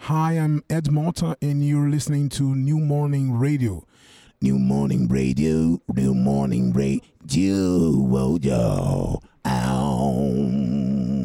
Hi, I'm Ed Malta, and you're listening to New Morning Radio. New Morning Radio, New Morning Radio, oh, yo, ow.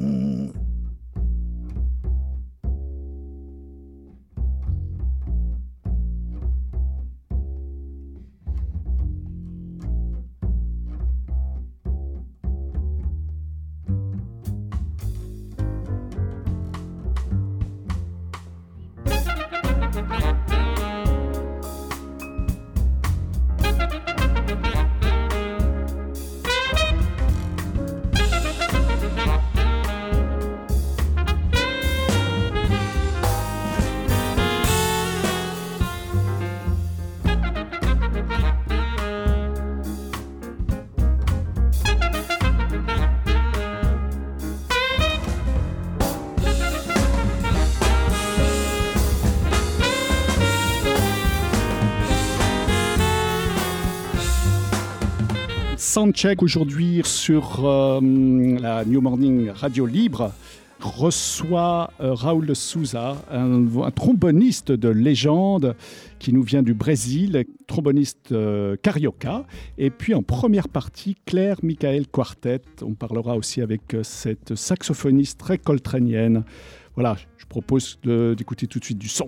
Soundcheck aujourd'hui sur la New Morning Radio Libre reçoit Raul de Souza, un tromboniste de légende qui nous vient du Brésil, tromboniste carioca. Et puis en première partie, Claire Michael Quartet. On parlera aussi avec cette saxophoniste très coltrénienne. Voilà, je propose d'écouter tout de suite du son.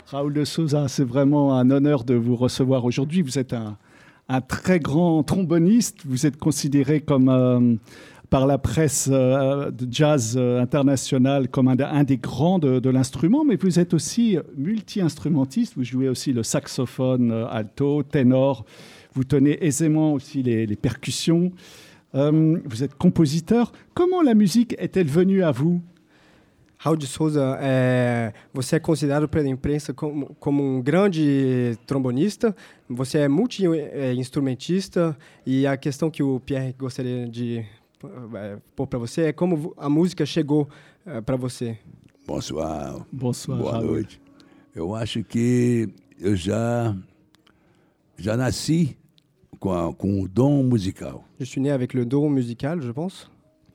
Raoul de Souza, c'est vraiment un honneur de vous recevoir aujourd'hui. Vous êtes un très grand tromboniste. Vous êtes considéré comme, par la presse de jazz internationale comme un des grands de l'instrument, mais vous êtes aussi multi-instrumentiste. Vous jouez aussi le saxophone alto, ténor. Vous tenez aisément aussi les percussions. Vous êtes compositeur. Comment la musique est-elle venue à vous? Raul de Souza, você é considerado pela imprensa como grande trombonista, você é multi-instrumentista, e a questão que o Pierre gostaria de pôr para você é como a música chegou para você. Bonsoir. Bonsoir, Boa Raoul. noite. Eu acho que eu já nasci com o dom musical. Je suis né avec le don musical, je pense.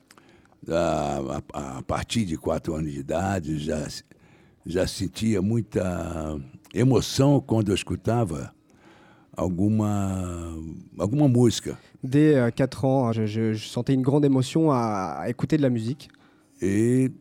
A partir de 4 anos de idade, já sentia muita emoção quando eu escutava alguma música. Dès 4 ans, je sentais une grande émotion à écouter de la musique. E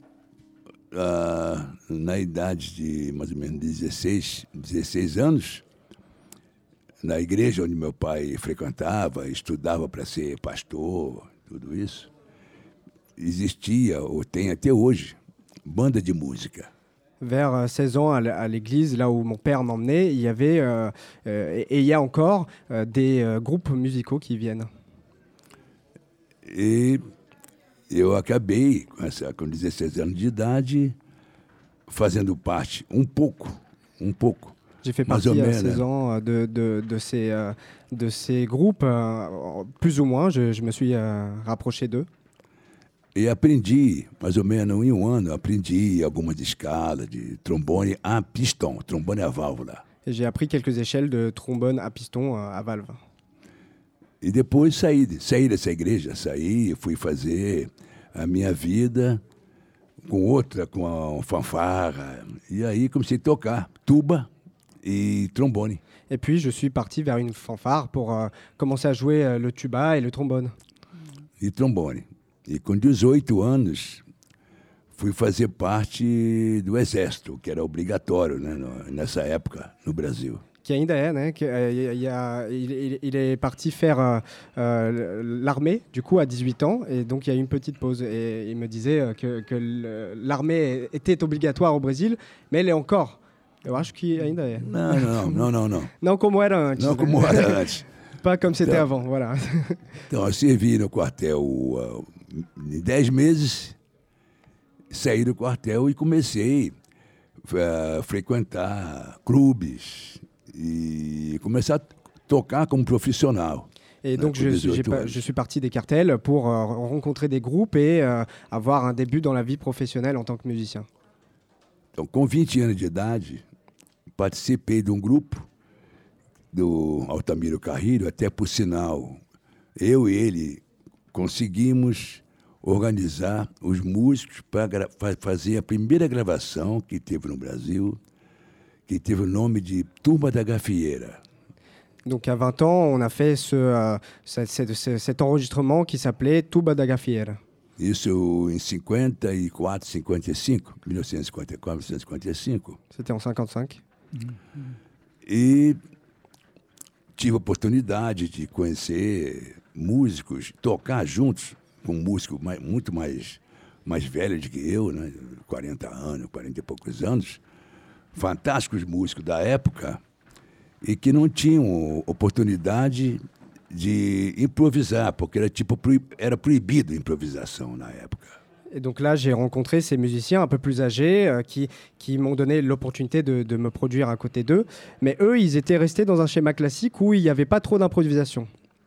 na idade de mais ou menos 16 anos, na igreja onde meu pai frequentava, estudava para ser pastor, tudo isso, existia, ou tem até hoje, banda de música. Vers 16 ans, à l'église, là où mon père m'emmenait, il y avait, et il y a encore, des groupes musicaux qui viennent. E eu acabei, com 16 anos de idade, fazendo parte, um pouco, J'ai fait mais ou partie à menos, 16 ans de ces groupes, plus ou moins, je me suis rapproché d'eux. e aprendi, mais ou menos em um ano, aprendi algumas escalas de trombone a pistão, trombone a válvula. Et j'ai appris quelques échelles de trombone à piston à valve. E depois saí dessa igreja, fui fazer a minha vida com a fanfarra, e aí comecei a tocar tuba e trombone. Et puis, je suis parti vers une fanfare pour commencer à jouer le tuba et le trombone. E trombone. E com 18 anos, fui fazer parte do Exército, que era obrigatório, né, nessa época no Brasil. Qui ainda é, né? Il est parti faire l'armée, du coup, à 18 ans. Et donc, il y a eu une petite pause. Et il me disait que l'armée était obligatoire au Brésil, mais elle est encore. Eu acho que ainda é. Não. Não como era antes. Não né? como era antes. Pas comme c'était Então- avant, voilà. Então, eu servi no quartel em 10 meses, saí do quartel e comecei a frequentar clubes e começar a tocar como profissional. Et donc, pour 18 ans. je suis parti des cartels pour rencontrer des groupes et avoir un début dans la vie professionnelle en tant que musicien. Então, com 20 anos de idade, participei de um grupo do Altamiro Carrilho, até por sinal, eu e ele conseguimos organizar os músicos para fazer a primeira gravação que teve no Brasil, que teve o nome de Turma da Gafieira. Donc, à 20 ans, on a fait cet enregistrement qui s'appelait Tuba da Gafieira. Isso em 54, 55, 1954, 1955. C'était en 55. E tive a oportunidade de conhecer músicos, tocar juntos com músicos muito mais velhos do que eu, né? 40 anos, 40 e poucos anos, fantásticos músicos da época e que não tinham oportunidade de improvisar, porque era proibido a improvisação na época. Et donc là, j'ai rencontré ces musiciens un peu plus âgés qui m'ont donné l'opportunité de me produire à côté d'eux. Mais eux, ils étaient restés dans un schéma classique où il n'y avait pas trop d'improvisation.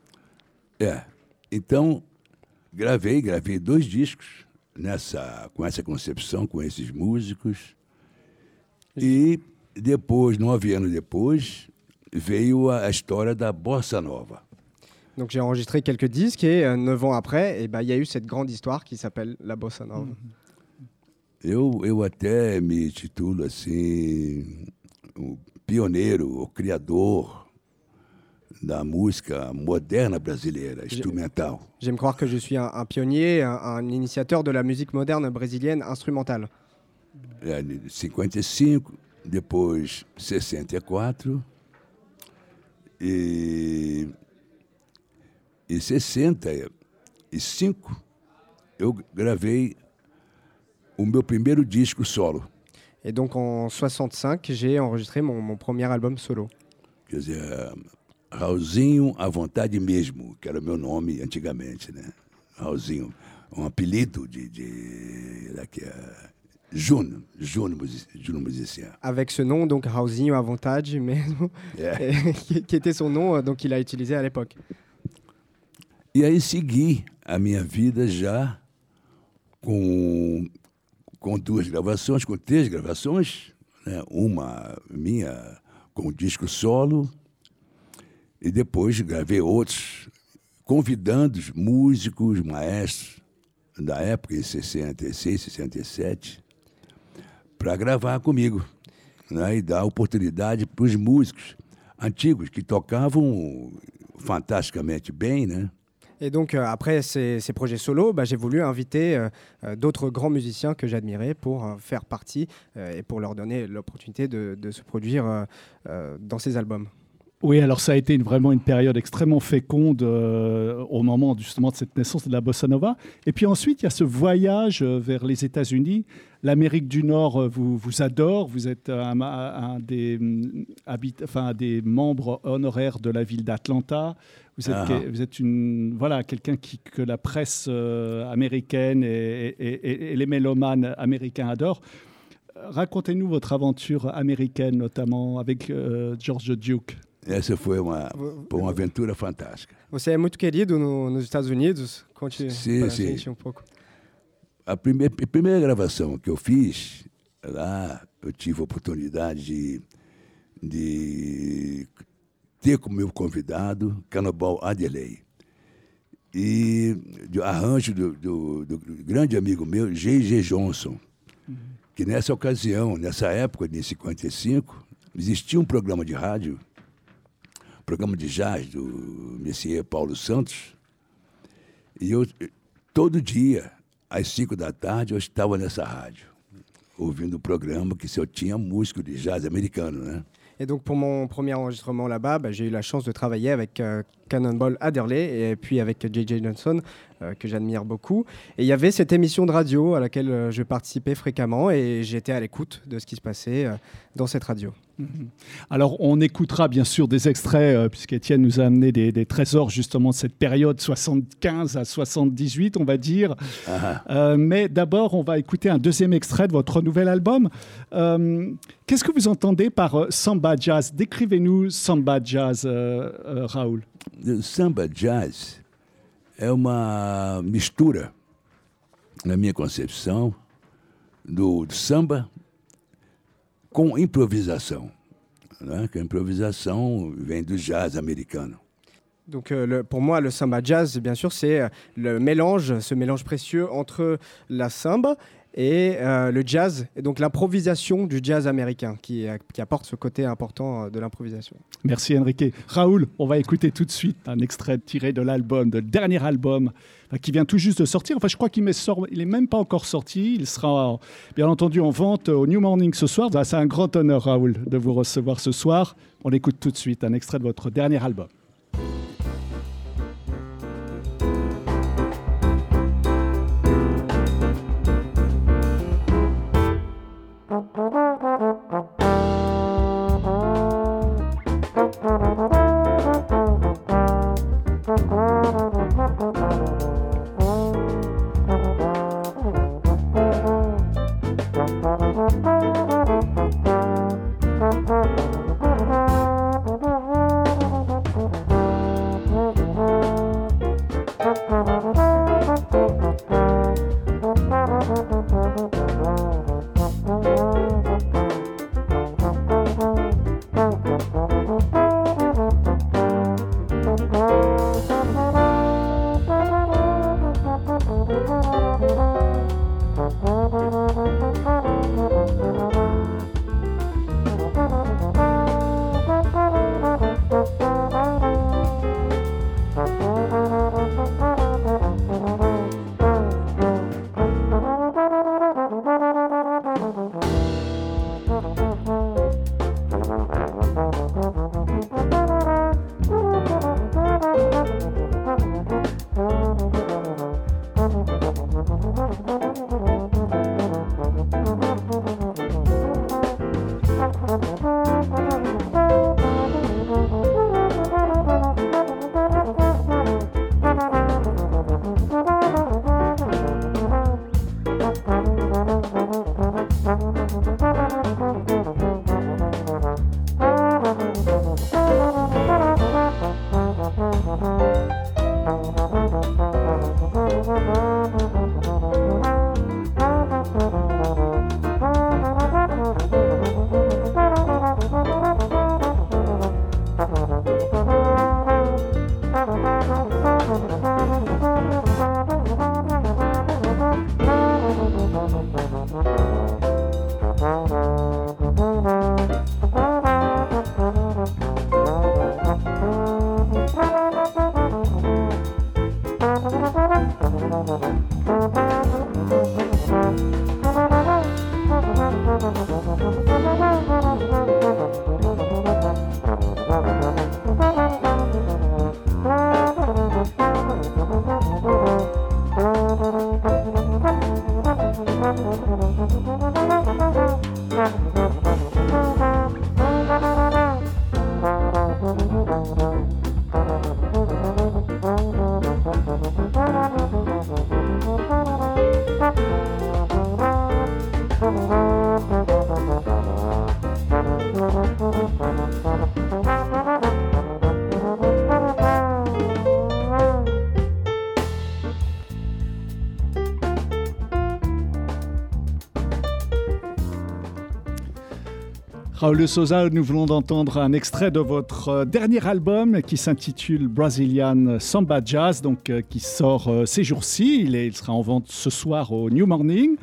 Então, gravei 2 discos com essa concepção, com esses músicos. E depois, 9 anos depois, veio a história da Bossa Nova. Donc j'ai enregistré quelques disques et 9 ans après, il y a eu cette grande histoire qui s'appelle la Bossa Nova. Eu até me titulo assim, o pioneiro, o criador da música moderna brasileira, instrumental. J'aime croire que je suis un pionnier, un initiateur de la musique moderne brésilienne instrumentale. De 55, depois 64 e 65 eu gravei o meu primeiro disco solo. Et donc en 65, j'ai enregistré mon premier album solo. Quer dizer, Raulzinho à vontade mesmo, que era o meu nome antigamente, né? Raulzinho, um apelido Juno musicien. Avec ce nom, donc Raulzinho à vontade mesmo, qui était son nom, donc il a utilisé à l'époque. E aí segui a minha vida já com 2 gravações, com 3 gravações, né? Uma minha com disco solo, e depois gravei outros, convidando os músicos, maestros da época, em 66, 67, para gravar comigo, né? E dar oportunidade para os músicos antigos que tocavam fantasticamente bem, né? Et donc, après ces projets solo, j'ai voulu inviter d'autres grands musiciens que j'admirais pour faire partie et pour leur donner l'opportunité de se produire dans ces albums. Oui, alors ça a été vraiment une période extrêmement féconde au moment justement de cette naissance de la bossa nova. Et puis ensuite, il y a ce voyage vers les États-Unis. L'Amérique du Nord vous adore. Vous êtes un des membres honoraires de la ville d'Atlanta. Vous êtes quelqu'un que la presse américaine et les mélomanes américains adorent. Racontez-nous votre aventure américaine, notamment avec George Duke. Essa foi uma aventura fantástica. Você é muito querido nos Estados Unidos? Conte pra gente um pouco. A primeira gravação que eu fiz lá, eu tive a oportunidade de ter como meu convidado Cannonball Adderley. E de arranjo do grande amigo meu, J.J. Johnson, que nessa ocasião, nessa época de 55, existia um programa de rádio, programa de jazz do Messier Paulo Santos, e eu, todo dia, às 5 da tarde, eu estava nessa rádio, ouvindo o programa que eu tinha músico de jazz americano, né? Et donc pour mon premier enregistrement là-bas, j'ai eu la chance de travailler avec Cannonball Adderley et puis avec J.J. Johnson, que j'admire beaucoup. Et il y avait cette émission de radio à laquelle je participais fréquemment et j'étais à l'écoute de ce qui se passait dans cette radio. Alors, on écoutera bien sûr des extraits, puisqu'Étienne nous a amené des trésors justement de cette période 75 à 78, on va dire. Mais d'abord, on va écouter un deuxième extrait de votre nouvel album. Qu'est-ce que vous entendez par samba jazz? Décrivez-nous samba jazz, Raul. O samba jazz é uma mistura, na minha concepção, do samba com improvisação, né? Que a improvisação vem do jazz americano. Donc pour moi, le samba jazz, bien sûr, c'est le mélange, ce mélange précieux entre la samba et le jazz, et donc l'improvisation du jazz américain qui apporte ce côté important de l'improvisation. Merci Enrique. Raoul, on va écouter tout de suite un extrait tiré de l'album, de le dernier album qui vient tout juste de sortir. Enfin, je crois qu'il n'est même pas encore sorti. Il sera bien entendu en vente au New Morning ce soir. C'est un grand honneur, Raoul, de vous recevoir ce soir. On écoute tout de suite un extrait de votre dernier album. Raul de Souza, nous venons d'entendre un extrait de votre dernier album qui s'intitule Brazilian Samba Jazz, donc qui sort ces jours-ci. Il sera en vente ce soir au New Morning.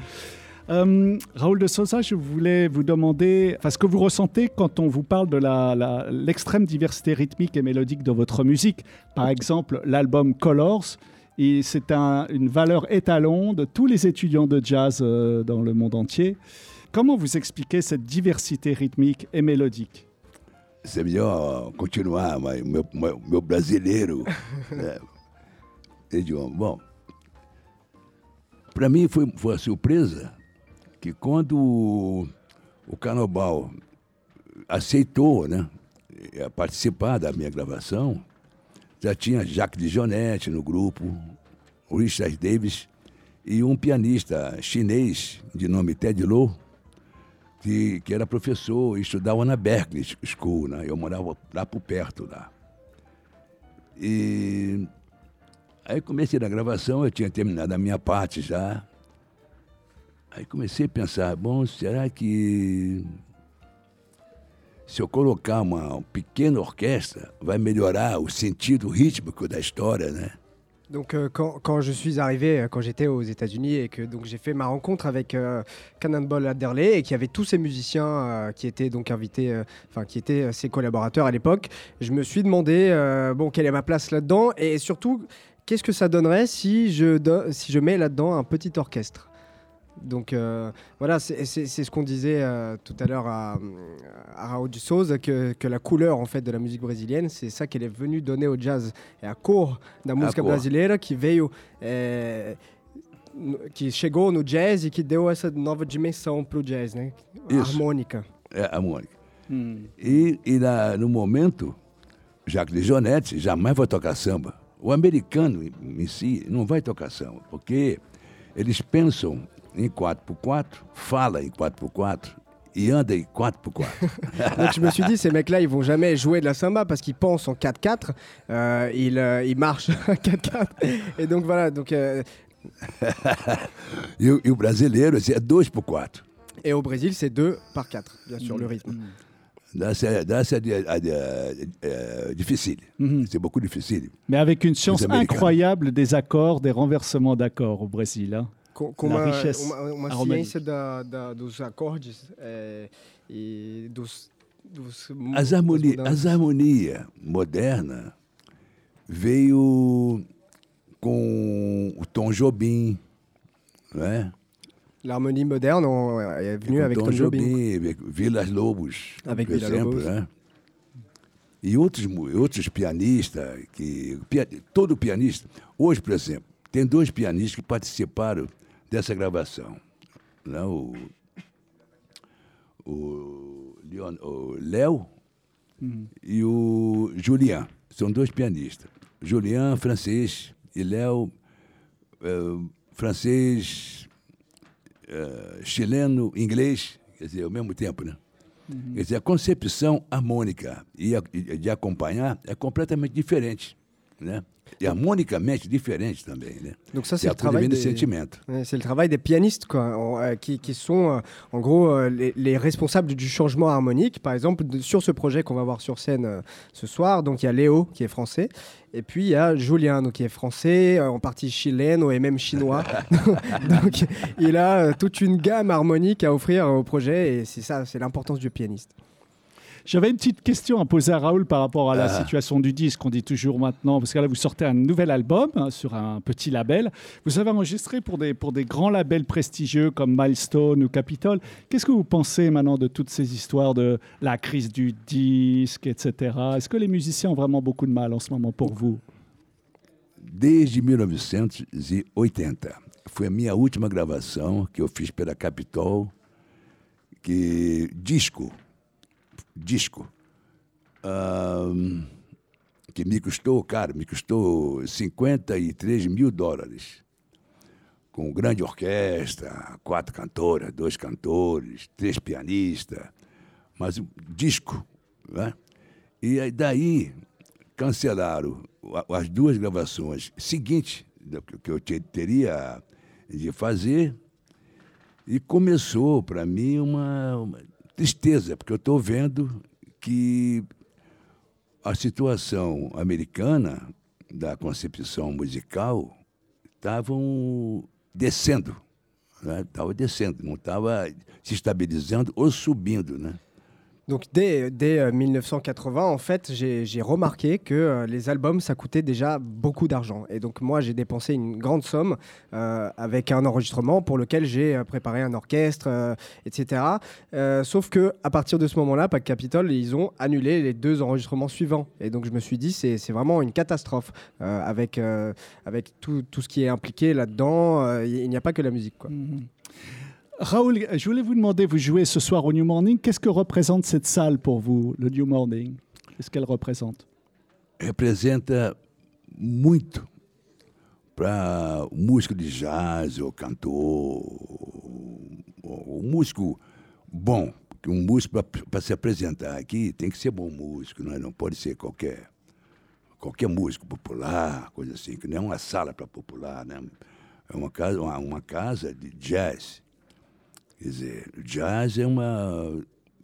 Raul de Souza, je voulais vous demander ce que vous ressentez quand on vous parle de l'extrême diversité rythmique et mélodique de votre musique. Par exemple, l'album Colors, et c'est une valeur étalon de tous les étudiants de jazz dans le monde entier. Comment vous expliquez cette diversité rythmique et mélodique? C'est melhor continuar, mas meu brasileiro, né? Idioma. Bom, para mim foi uma surpresa que quando o Carnaval aceitou, né, participar da minha gravação, já tinha Jacques Dijonette no grupo, o Richard Davis e um pianista chinês de nome Ted Lo, que era professor e estudava na Berklee School, né? Eu morava lá por perto lá. E aí comecei na gravação, eu tinha terminado a minha parte já. Aí comecei a pensar, bom, será que se eu colocar uma pequena orquestra vai melhorar o sentido rítmico da história, né? Donc quand je suis arrivé, quand j'étais aux États-Unis et que donc j'ai fait ma rencontre avec Cannonball Adderley et qu'il y avait tous ces musiciens qui étaient donc invités, qui étaient ses collaborateurs à l'époque, je me suis demandé quelle est ma place là-dedans et surtout qu'est-ce que ça donnerait si je mets là-dedans un petit orchestre. Donc voilà, c'est ce qu'on disait tout à l'heure à Raul de Souza, que la couleur en fait de la musique brésilienne, c'est ça qu'elle est venue donner au jazz. É a cor da música brasileira que veio, que chegou no jazz e que deu essa nova dimensão para o jazz, né? Harmônica. É, harmônica. E no momento, Jacques Dijonette jamais vai tocar samba. O americano em si não vai tocar samba, porque eles pensam em 4x4, fala em 4x4 et anda en 4x4. Donc je me suis dit, ces mecs-là, ils vont jamais jouer de la samba parce qu'ils pensent en 4x4, ils marchent en 4x4. Et donc voilà. Donc, e o brasileiro, c'est 2x4. Et au Brésil, c'est 2x4, bien sûr, le rythme. C'est difficile. C'est beaucoup difficile. Mais avec une science incroyable des accords, des renversements d'accords au Brésil, hein. Com uma ciência dos acordes e dos as harmonias modernas veio com o Tom Jobim, né? L'harmonie moderne est venue avec Tom Jobim. Avec Vilas Lobos, Avec por Villa exemplo, Lobos. né? E outros pianistas, todo pianista... Hoje, por exemplo, tem 2 pianistas que participaram dessa gravação. Né? O Léo e o Julien. São 2 pianistas. Julien, francês, e Léo, francês, chileno, inglês, quer dizer, ao mesmo tempo, né? Quer dizer, a concepção harmônica e de acompanhar é completamente diferente, né? Et harmoniquement différente também, né? Donc ça, c'est le travail des sentimento. C'est le travail des pianistes, quoi, qui sont en gros les responsables du changement harmonique. Par exemple, sur ce projet qu'on va voir sur scène ce soir, donc il y a Léo qui est français, et puis il y a Julien donc qui est français, en partie chileno et même chinois. Donc il a toute une gamme harmonique à offrir au projet, et c'est ça, c'est l'importance du pianiste. J'avais une petite question à poser à Raoul par rapport à la situation du disque. On dit toujours maintenant, parce que là, vous sortez un nouvel album sur un petit label. Vous avez enregistré pour des grands labels prestigieux comme Milestone ou Capitol. Qu'est-ce que vous pensez maintenant de toutes ces histoires de la crise du disque, etc. Est-ce que les musiciens ont vraiment beaucoup de mal en ce moment pour vous? Desde 1980. Foi a minha última gravação que eu fiz pela Capitol, disco, que me custou 53 mil dólares, com grande orquestra, 4 cantoras, 2 cantores, 3 pianistas, mas disco, né? E aí, daí cancelaram as 2 gravações seguintes que eu teria de fazer, e começou para mim uma tristeza, porque eu estou vendo que a situação americana da concepção musical estavam descendo, né? Estava descendo, não estava se estabilizando ou subindo, né? Donc dès 1980, en fait, j'ai remarqué que les albums, ça coûtait déjà beaucoup d'argent. Et donc moi, j'ai dépensé une grande somme avec un enregistrement pour lequel j'ai préparé un orchestre, etc. Sauf qu'à partir de ce moment-là, Pack Capitol, ils ont annulé les 2 enregistrements suivants. Et donc je me suis dit, c'est vraiment une catastrophe avec tout ce qui est impliqué là-dedans. Il n'y a pas que la musique, quoi. Raoul, je voulais vous demander, vous jouez ce soir au New Morning, qu'est-ce que représente cette salle pour vous, le New Morning? Qu'est-ce qu'elle représente? Representa muito para o músico de jazz, ou cantor, o músico bom. Um músico, para se apresentar aqui, tem que ser bom músico, não pode ser qualquer músico popular, coisa assim, que não é uma sala para popular, né? É uma casa de jazz. Quer dizer, o jazz é um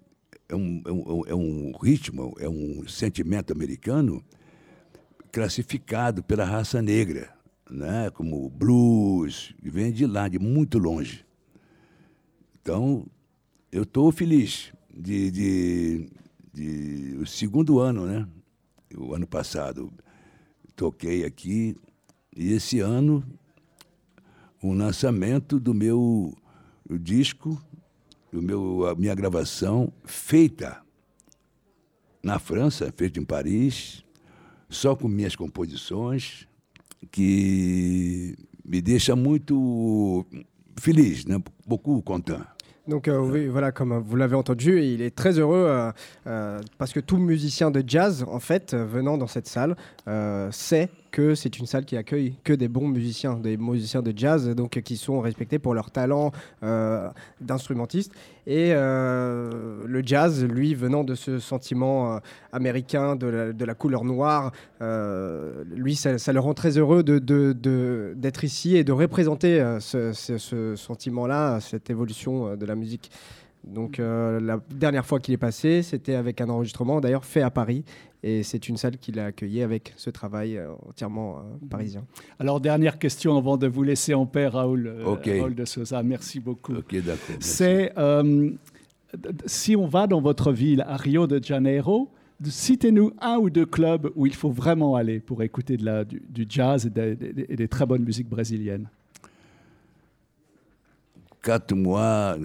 ritmo, é um sentimento americano classificado pela raça negra, né? Como blues, que vem de lá, de muito longe. Então, eu estou feliz de o segundo ano, né? O ano passado toquei aqui, e esse ano o lançamento do meu disco, a minha gravação feita na França, feita em Paris, só com minhas composições, que me deixa muito feliz, né? Beaucoup content. Donc oui, voilà, comme vous l'avez entendu, il est très heureux parce que tout musicien de jazz, en fait, venant dans cette salle, sait que c'est une salle qui accueille que des bons musiciens, des musiciens de jazz, donc qui sont respectés pour leur talent d'instrumentiste. Et le jazz, lui, venant de ce sentiment américain, de la couleur noire, lui, ça le rend très heureux d'être ici et de représenter ce sentiment-là, cette évolution de la musique. Donc la dernière fois qu'il est passé, c'était avec un enregistrement d'ailleurs fait à Paris, et c'est une salle qui l'a accueilli avec ce travail entièrement parisien. Alors dernière question avant de vous laisser en paix, Raoul, Okay. Raoul de Souza, merci beaucoup. Ok, d'accord. C'est si on va dans votre ville à Rio de Janeiro, citez-nous 1 ou 2 clubs où il faut vraiment aller pour écouter du jazz et des très bonnes musiques brésiliennes. 4 mois,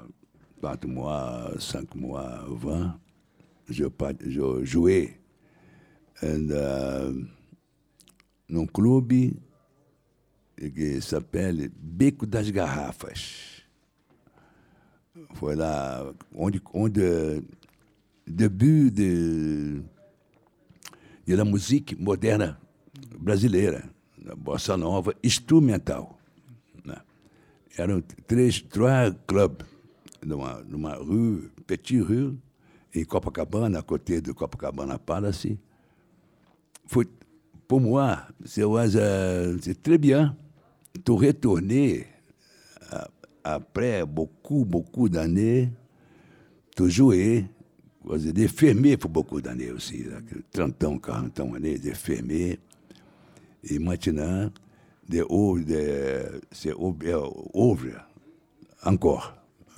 5 mois avant, je jouais num clube que s'appelle Beco das Garrafas. Foi lá onde debut da música moderna brasileira, da bossa nova instrumental. Né? Eram três clubes numa rue, Petit Rue, em Copacabana, à côté de Copacabana Palace. Pour moi, c'est très bien de retourner après beaucoup d'années, de jouer, de fermer pour beaucoup d'années aussi, 30 ans, 40 ans, de fermer. Et maintenant, c'est ouvre encore.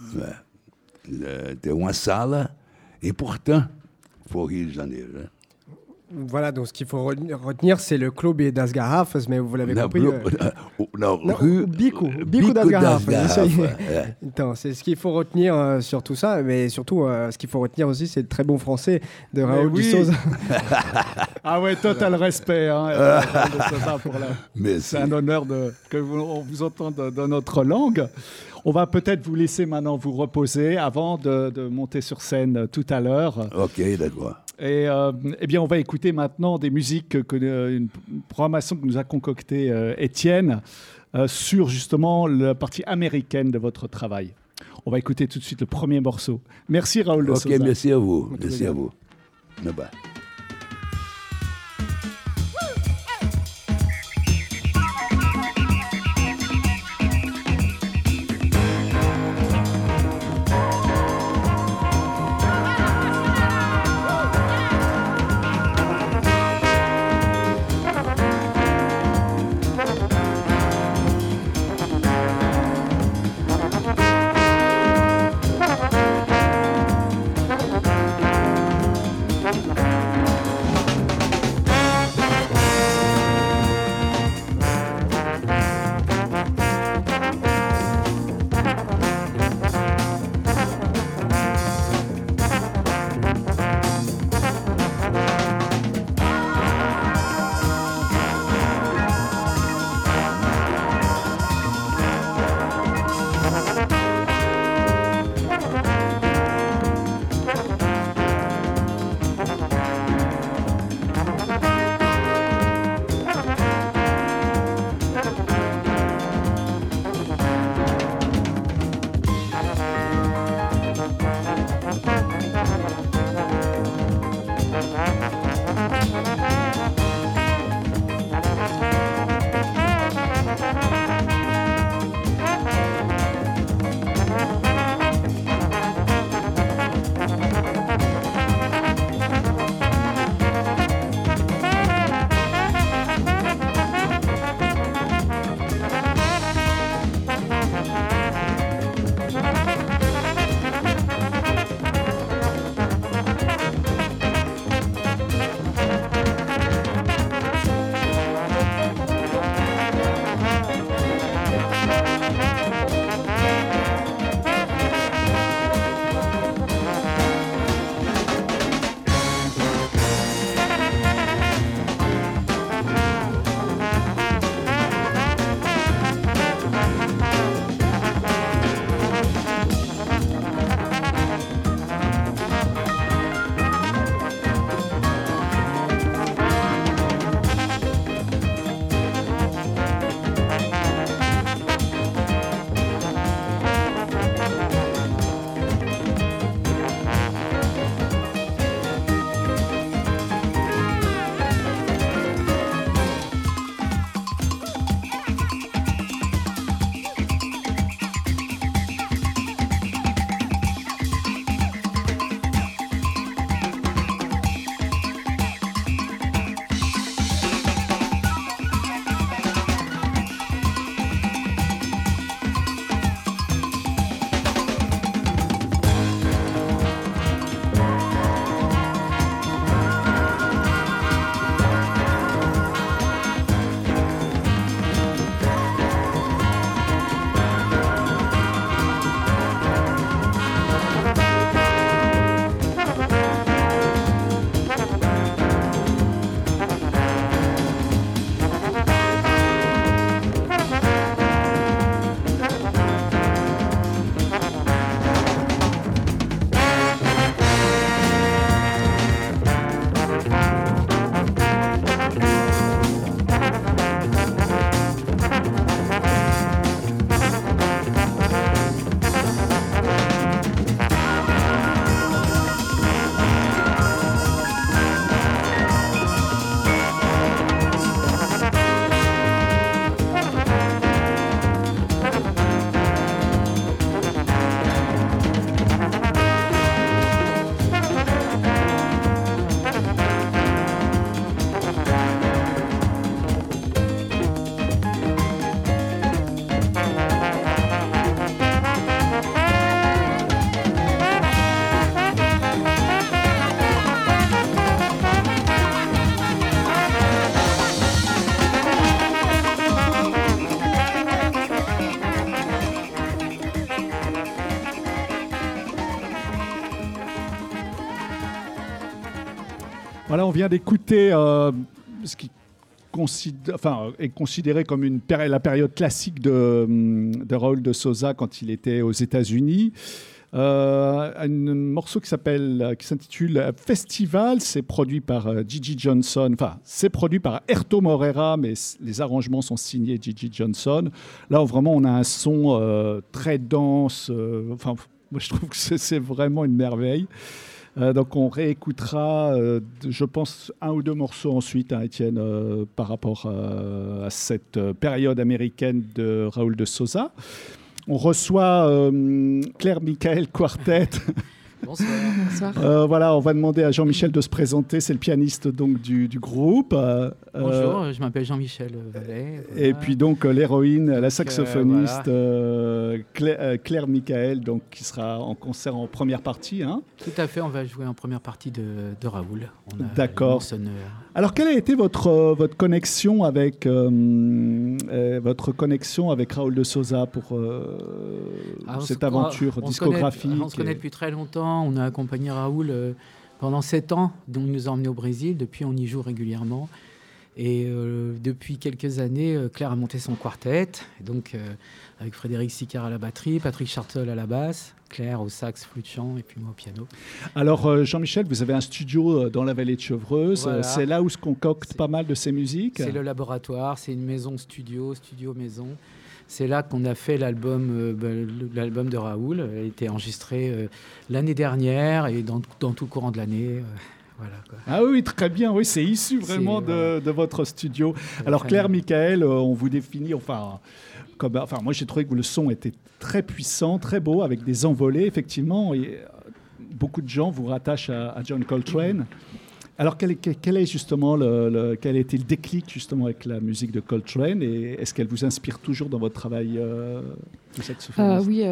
Tem uma sala importante pour o Rio de Janeiro. Né? Voilà, donc ce qu'il faut retenir, c'est le Clube das Garrafas, mais vous l'avez compris. Bico das Garrafas. Então, c'est ce qu'il faut retenir sur tout ça, mais surtout, ce qu'il faut retenir aussi, c'est le très bon français de Raoul de Souza. Ah ouais, total respect, Raoul de Souza, c'est un honneur que on vous entende dans notre langue. On va peut-être vous laisser maintenant vous reposer avant de monter sur scène tout à l'heure. Ok, d'accord. Et eh bien, on va écouter maintenant des musiques, une programmation que nous a concoctée Étienne sur justement la partie américaine de votre travail. On va écouter tout de suite le premier morceau. Merci Raoul de Souza. Ok, merci à vous. Merci à vous. Bye bye. Voilà, on vient d'écouter ce qui est considéré comme la période classique de Raúl de Souza quand il était aux États-Unis. Un morceau qui s'intitule Festival, c'est produit par Gigi Johnson, enfin c'est produit par Herto Moreira, mais les arrangements sont signés Gigi Johnson. Là où vraiment on a un son très dense, moi je trouve que c'est vraiment une merveille. Donc on réécoutera, je pense, un ou deux morceaux ensuite, Étienne, par rapport à cette période américaine de Raúl de Souza. On reçoit Claire Michael Quartet. Bonsoir. Voilà, on va demander à Jean-Michel de se présenter. C'est le pianiste donc du groupe. Bonjour, je m'appelle Jean-Michel Vallet. Voilà. Et puis donc l'héroïne, la saxophoniste Claire Michael, donc qui sera en concert en première partie. Hein. Tout à fait, on va jouer en première partie de Raúl. D'accord. Alors quelle a été votre connexion avec Raúl de Souza pour cette aventure discographique? On se connaît depuis très longtemps. On a accompagné Raúl pendant 7 ans. Donc il nous a emmenés au Brésil. Depuis, on y joue régulièrement. Et depuis quelques années, Claire a monté son quartet. Donc avec Frédéric Sicard à la batterie, Patrick Chartel à la basse, Claire au sax, flûte chant et puis moi au piano. Alors Jean-Michel, vous avez un studio dans la vallée de Chevreuse. Voilà. C'est là où se concocte pas mal de ces musiques. C'est le laboratoire, c'est une maison studio maison. C'est là qu'on a fait l'album de Raúl. Il a été enregistré l'année dernière et dans tout le courant de l'année. Voilà, quoi. Ah oui, très bien. Oui, c'est issu vraiment de votre studio. Alors Claire Michael, on vous définit, moi j'ai trouvé que le son était très puissant, très beau, avec des envolées, effectivement. Et beaucoup de gens vous rattachent à John Coltrane. Alors quel est justement quel a été le déclic justement avec la musique de Coltrane, et est-ce qu'elle vous inspire toujours dans votre travail de saxophoniste? Oui,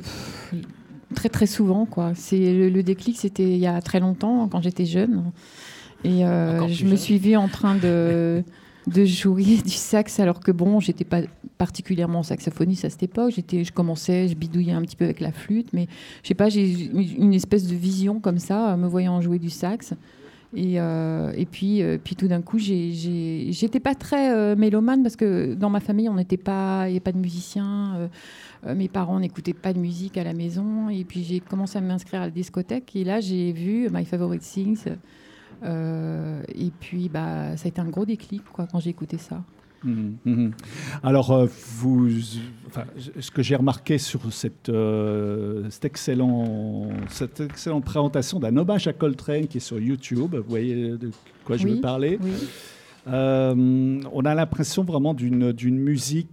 très très souvent quoi. C'est le déclic, c'était il y a très longtemps quand j'étais jeune, et je me suis vue en train de jouer du sax, alors que bon, j'étais pas particulièrement saxophoniste à cette époque. Je bidouillais un petit peu avec la flûte, mais je sais pas, j'ai une espèce de vision comme ça, me voyant jouer du sax. Et puis tout d'un coup, j'étais pas très mélomane, parce que dans ma famille, il n'y avait pas de musiciens. Mes parents n'écoutaient pas de musique à la maison. Et puis j'ai commencé à m'inscrire à la discothèque. Et là, j'ai vu My Favorite Things. Et puis, ça a été un gros déclic quand j'ai écouté ça. Alors, ce que j'ai remarqué sur cette excellente présentation d'un hommage à Coltrane qui est sur YouTube, vous voyez de quoi je veux parler. Oui. On a l'impression vraiment d'une musique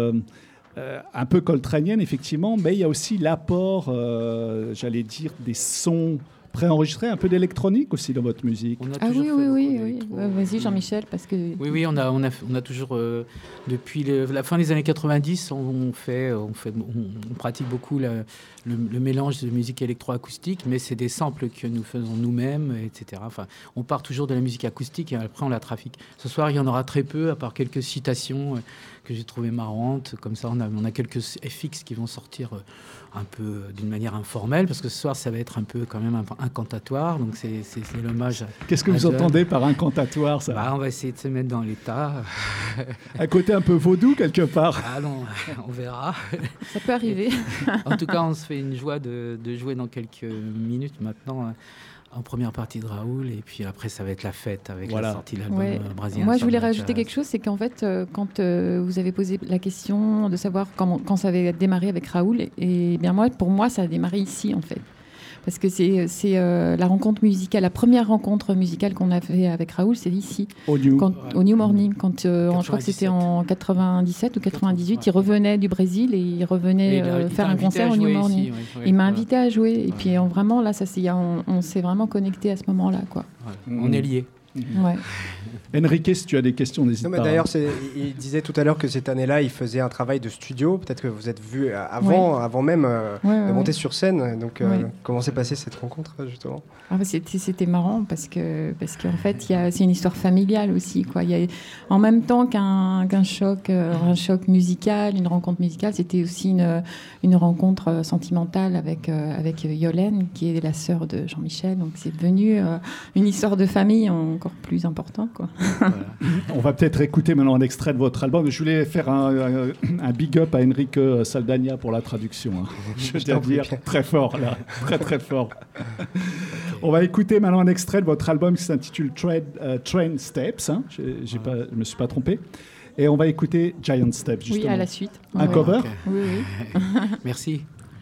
un peu coltranienne, effectivement, mais il y a aussi l'apport, j'allais dire, des sons préenregistré, un peu d'électronique aussi dans votre musique. Oui. Vas-y Jean-Michel, parce que... Oui, on a toujours, depuis la fin des années 90, on pratique beaucoup le mélange de musique électroacoustique, mais c'est des samples que nous faisons nous-mêmes, etc. Enfin, on part toujours de la musique acoustique et après on la trafique. Ce soir, il y en aura très peu, à part quelques citations que j'ai trouvées marrantes. Comme ça, on a quelques FX qui vont sortir un peu d'une manière informelle, parce que ce soir, ça va être un peu quand même incantatoire. Donc, c'est l'hommage. Qu'est-ce que vous entendez par incantatoire, ça? On va essayer de se mettre dans l'état. Un côté un peu vaudou, quelque part. Ah non, on verra. Ça peut arriver. En tout cas, on se fait une joie de jouer dans quelques minutes maintenant en première partie de Raúl, et puis après ça va être la fête avec la sortie de l'album brésilien. Moi je voulais rajouter quelque chose, c'est qu'en fait quand vous avez posé la question de savoir quand ça avait démarré avec Raúl, et bien pour moi ça a démarré ici en fait. Parce que c'est la rencontre musicale, la première rencontre musicale qu'on a fait avec Raúl, c'est ici, au New Morning, quand je crois que c'était en 97 ou 98, il revenait du Brésil et il revenait faire un concert au New Morning. Il m'a invité à jouer, et puis vraiment là, on s'est vraiment connecté à ce moment-là, quoi. On est liés. Ouais. Enrique, si tu as des questions, n'hésite pas. D'ailleurs, il disait tout à l'heure que cette année-là, il faisait un travail de studio. Peut-être que vous êtes vus avant même de monter sur scène. Donc, comment s'est passée cette rencontre, justement? C'était marrant parce qu'en fait, c'est une histoire familiale aussi, quoi. En même temps qu'un choc musical, une rencontre musicale, c'était aussi une rencontre sentimentale avec Yolène, qui est la sœur de Jean-Michel. Donc, c'est devenu une histoire de famille encore plus importante, quoi. Voilà. On va peut-être écouter maintenant un extrait de votre album. Je voulais faire un big up à Enrique Saldagna pour la traduction. Hein. Je dois dire très fort, là. Très, très fort. On va écouter maintenant un extrait de votre album qui s'intitule Train Steps. Hein. Je ne me suis pas trompé. Et on va écouter Giant Steps, justement. Oui, à la suite. Un cover? Okay. Oui. Merci.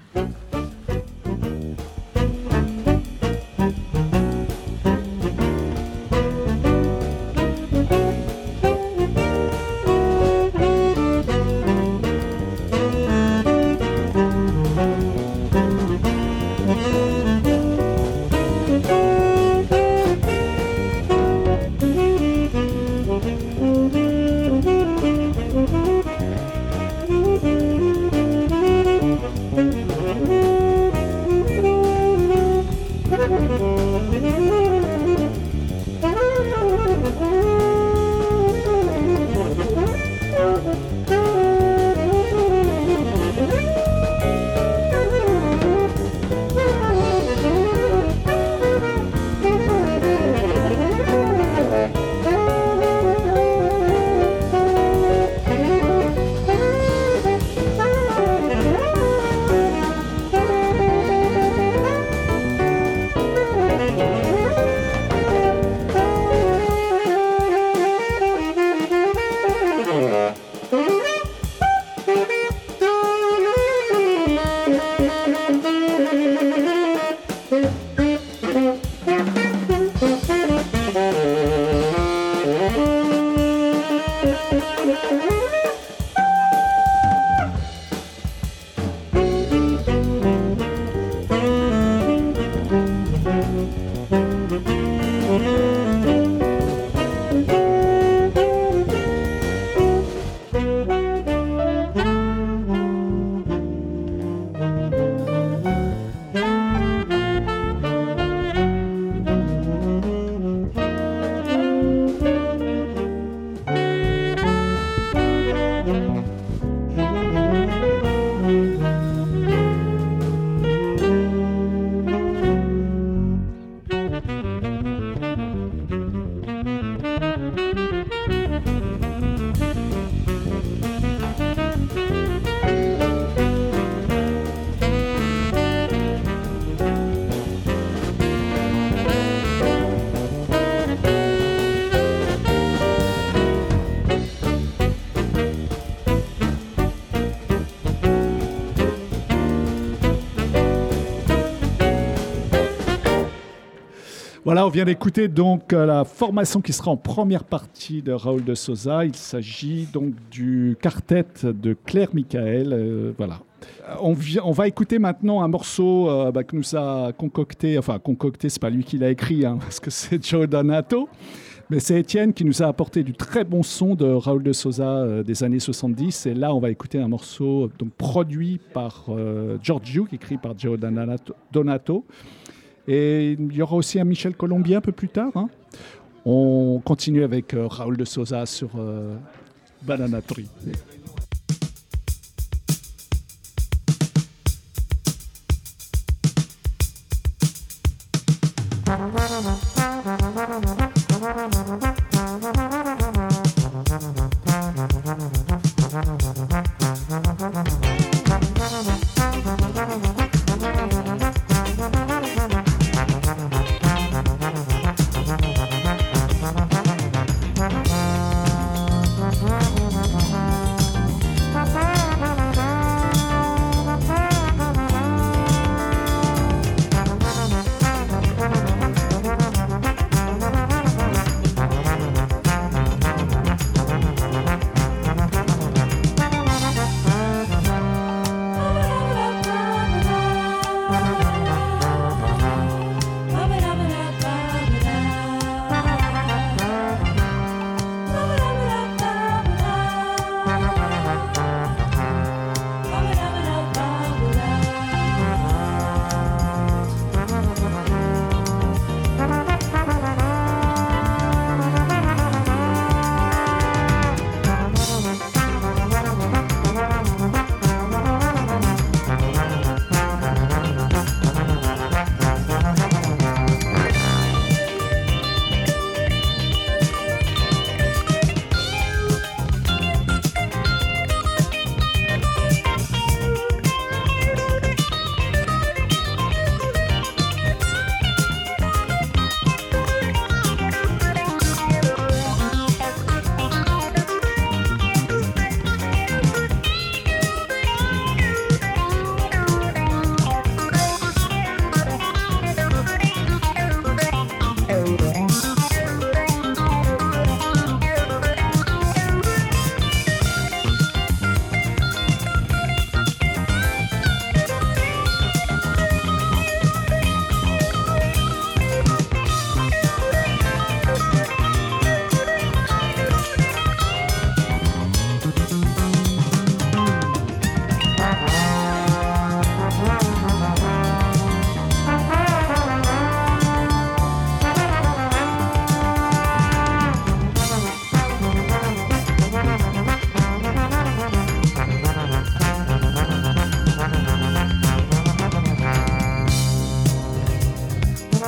Voilà, on vient d'écouter donc la formation qui sera en première partie de Raoul de Souza. Il s'agit donc du quartet de Claire Michael. Voilà. On va écouter maintenant un morceau que nous a concocté, c'est pas lui qui l'a écrit, hein, parce que c'est Joe Donato, mais c'est Étienne qui nous a apporté du très bon son de Raoul de Souza des années 70. Et là, on va écouter un morceau donc, produit par George Duke, écrit par Joe Donato. Et il y aura aussi un Michel Colombier un peu plus tard. Hein. On continue avec Raoul de Souza sur Banana Tree.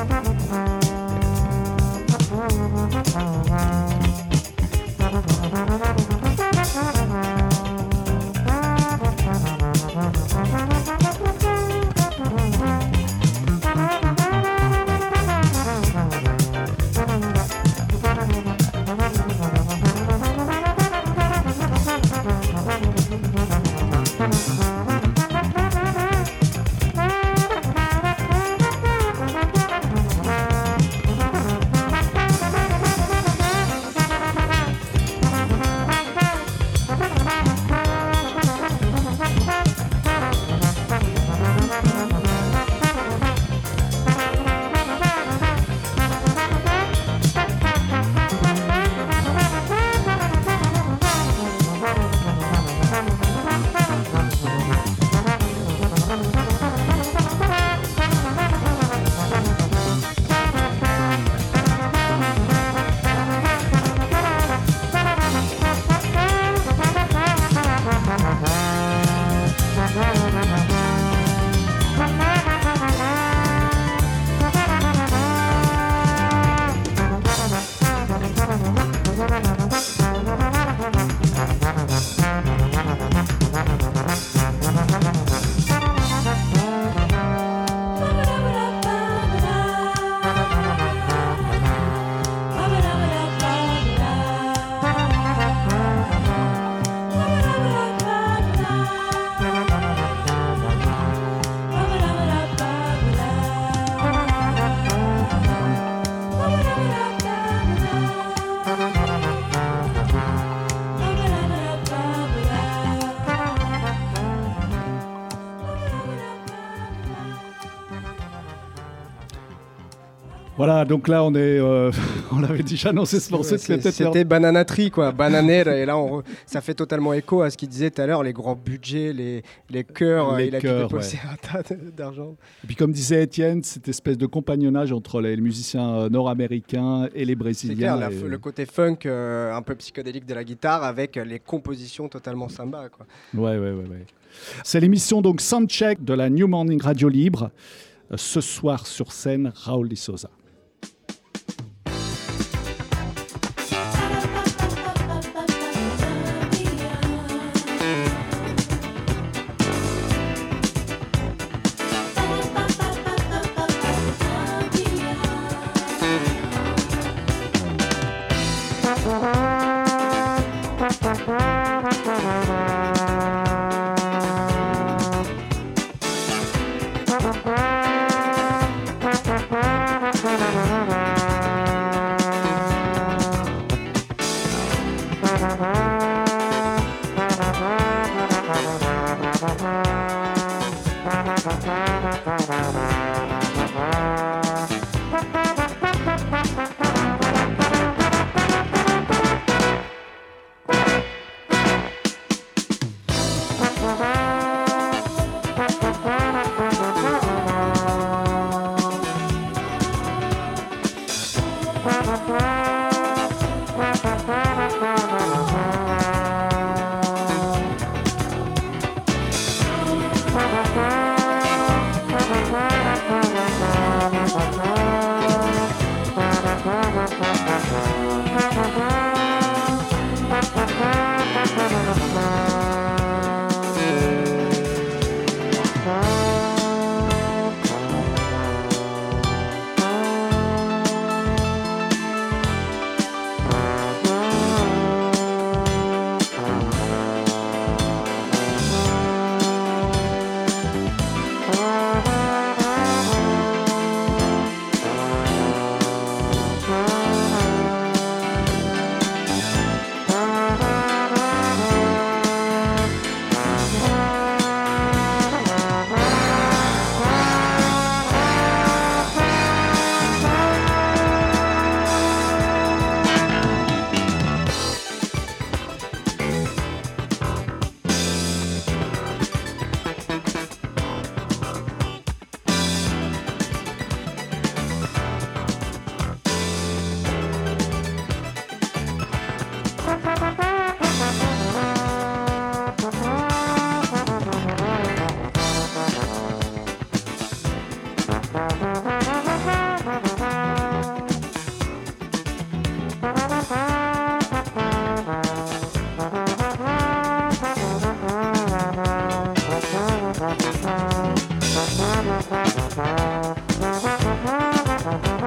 Voilà, donc là, on l'avait déjà annoncé ce morceau. C'était Banana Tree, quoi, Bananera. Et là, ça fait totalement écho à ce qu'il disait tout à l'heure, les grands budgets, les chœurs. Il a pu dépenser un tas d'argent. Et puis, comme disait Étienne, cette espèce de compagnonnage entre les musiciens nord-américains et les brésiliens. C'est clair, le côté funk un peu psychédélique de la guitare avec les compositions totalement samba, quoi. Ouais. C'est l'émission donc Soundcheck de la New Morning Radio Libre. Ce soir sur scène, Raúl de Souza.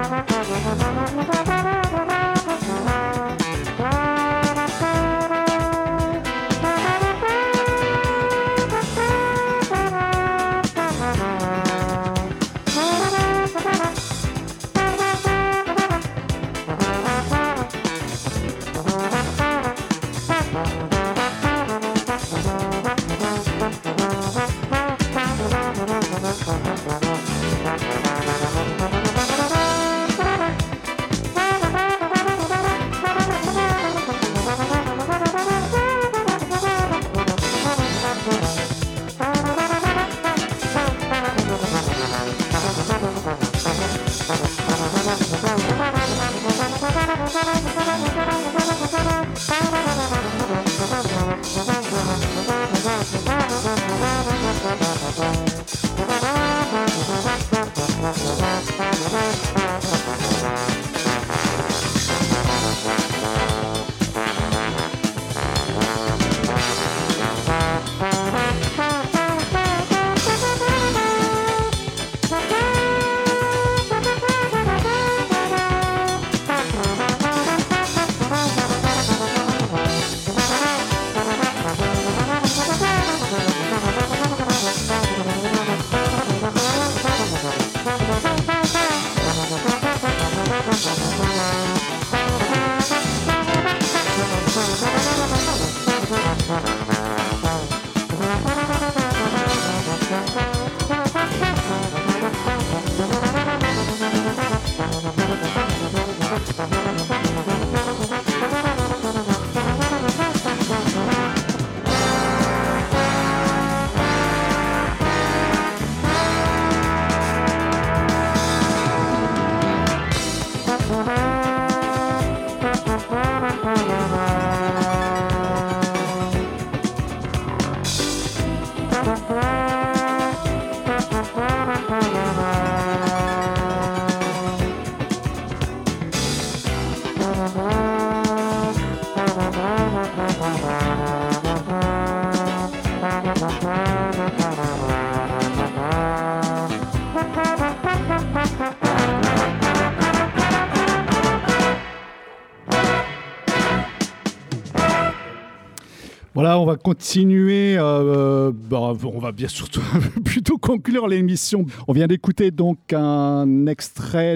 Voilà, on va continuer. On va bien surtout plutôt conclure l'émission. On vient d'écouter donc un extrait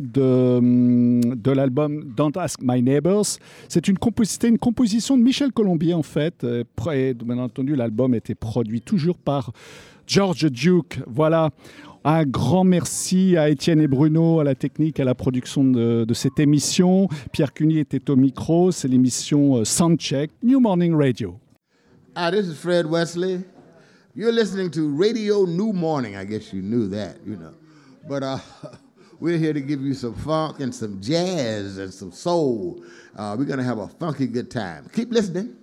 de l'album Don't Ask My Neighbors. C'était une composition de Michel Colombier en fait. Et bien entendu, l'album était produit toujours par George Duke. Voilà. Un grand merci à Étienne et Bruno, à la technique, à la production de cette émission. Pierre Cuny était au micro. C'est l'émission Soundcheck, New Morning Radio. Hi, this is Fred Wesley. You're listening to Radio New Morning. I guess you knew that, you know. But we're here to give you some funk and some jazz and some soul. We're going to have a funky good time. Keep listening.